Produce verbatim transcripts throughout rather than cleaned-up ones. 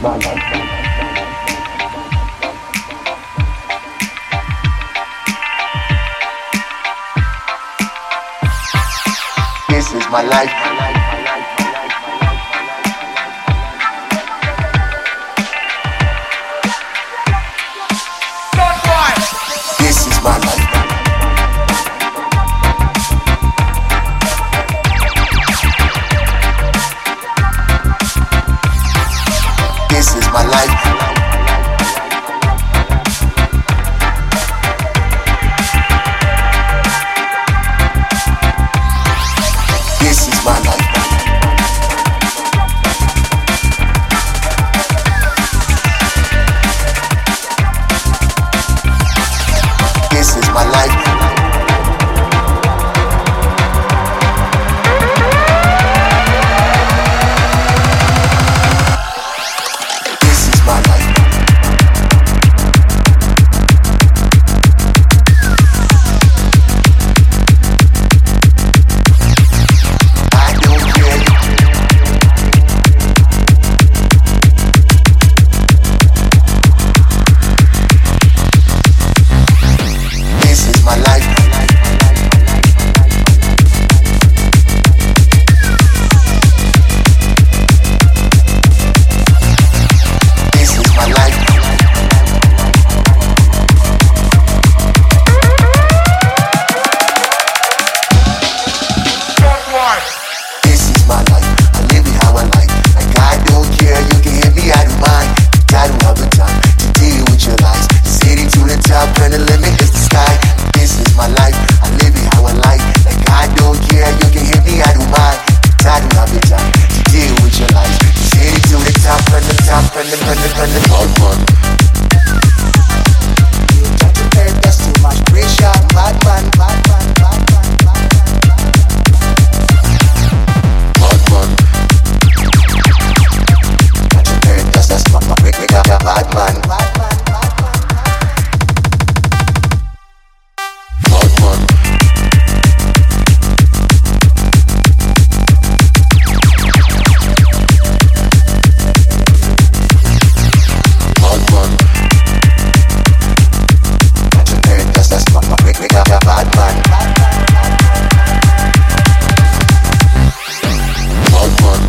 This is my life. This is my life. This is my life. This is my life. This is my life. This is my life. I don't care. This is my life. This is my life. This is my life. I live it how I like. Like I don't care. You can hit me out of mind. I don't have the time to deal with your lies. City to the top and the limit is the sky. This is my life. I live it how I like. Like I don't care. You can hit me out of mind. I don't have the time to deal with your lies. City to the top and the top and the and the and the hard one. You got to pay, that's too much pressure. Bad man, bad man, bad man, bad man, bad man. Hard one. Got to pay, that's that's my my bad man, bad man, bad man. Hard one. Hard one. Got to pay, that's that's my my bad man, bad man. Hard one.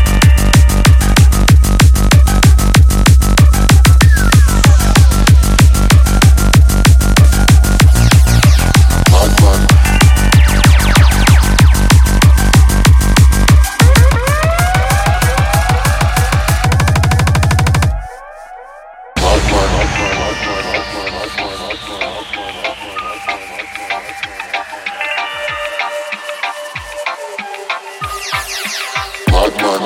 Hard one. Hard one. Hard one.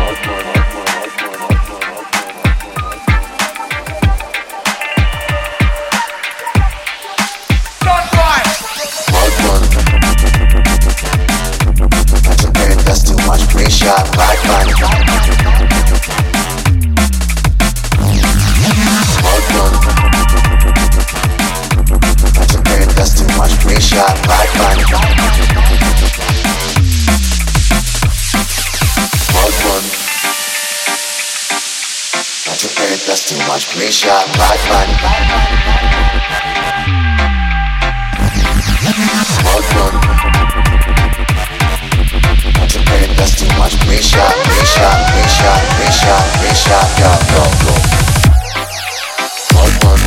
Hard one. Got to pay, that's too much pressure. Bad man. Hard one. Got to pay, that's too much pressure. Bad man. Hard one. Got to pay, that's too much pressure. Bad man. Hard one. Got to pay, that's too much pressure. Pressure, pressure, pressure, pressure. Go, go, go. Hard one.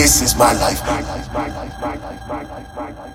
This is my life. My life, my life, my life, my life, my life.